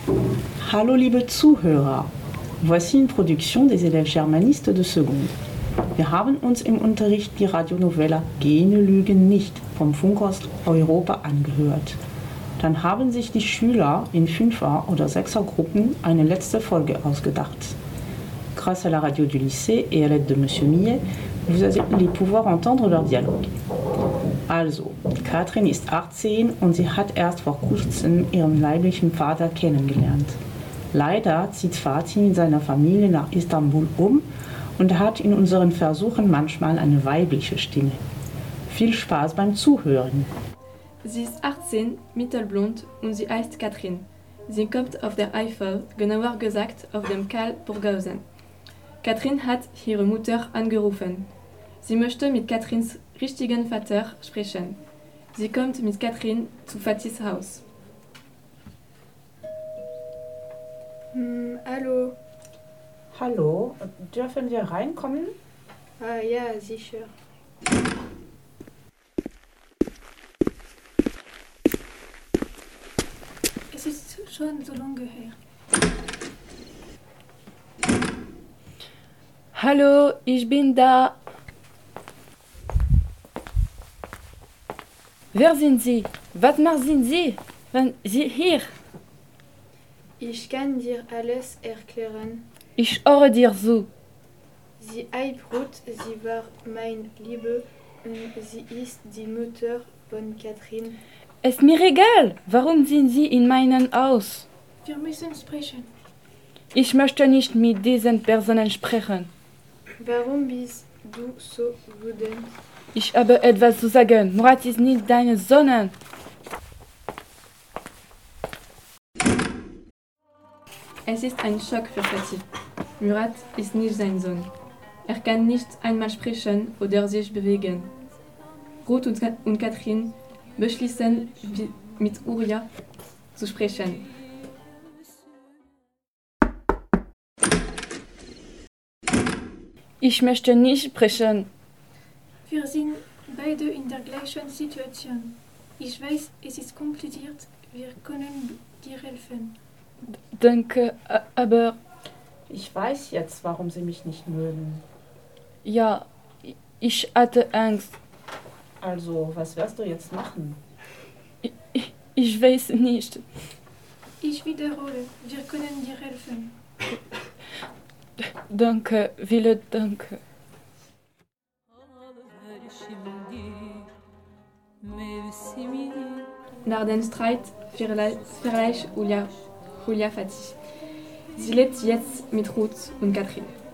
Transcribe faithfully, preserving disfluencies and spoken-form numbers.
Hallo liebe Zuhörer, voici une production des élèves germanistes de Seconde. Wir haben uns im Unterricht die Radionovella Gene lügen nicht vom Funkhaus Europa angehört. Dann haben sich die Schüler in Fünfer- oder Sechsergruppen eine letzte Folge ausgedacht. Grâce à la radio du lycée et à l'aide de Monsieur Millet, vous allez pouvoir entendre leur Dialogue. Also, Katrin ist achtzehn und sie hat erst vor kurzem ihren leiblichen Vater kennengelernt. Leider zieht Fatih mit seiner Familie nach Istanbul um und hat in unseren Versuchen manchmal eine weibliche Stimme. Viel Spaß beim Zuhören. Sie ist achtzehn, mittelblond und sie heißt Katrin. Sie kommt auf der Eifel, genauer gesagt auf dem Kal Burghausen. Katrin hat ihre Mutter angerufen. Sie möchte mit Katrins richtigen Vater sprechen. Sie kommt mit Katrin zu Fatihs Haus. Hm, hallo. Hallo, dürfen wir reinkommen? Ah ja, sicher. Es ist schon so lange her. Hallo, ich bin da. Wer sind Sie? Was machen Sie, wenn Sie hier? Ich kann dir alles erklären. Ich höre dir zu. Sie heißt Ruth, sie war meine Liebe und sie ist die Mutter von Katrin. Es ist mir egal. Warum sind Sie in meinem Haus? Wir müssen sprechen. Ich möchte nicht mit diesen Personen sprechen. Warum bist du so wütend? Ich habe etwas zu sagen. Murat ist nicht dein Sohn. Es ist ein Schock für Fatih. Murat ist nicht sein Sohn. Er kann nicht einmal sprechen oder sich bewegen. Ruth und, Ka- und Katrin beschließen, wie- mit Uriah zu sprechen. Ich möchte nicht sprechen. Wir sind beide in der gleichen Situation. Ich weiß, es ist kompliziert. Wir können dir helfen. Danke, aber Ich weiß jetzt, warum Sie mich nicht mögen. ja, ich hatte Angst. Also, was wirst du jetzt machen? Ich, ich weiß nicht. Ich wiederhole, wir können dir helfen. Danke, viele Danke. Nach dem Streit verle- verlässt Julia, Julia Fatih. Sie lebt jetzt mit Ruth und Katrin.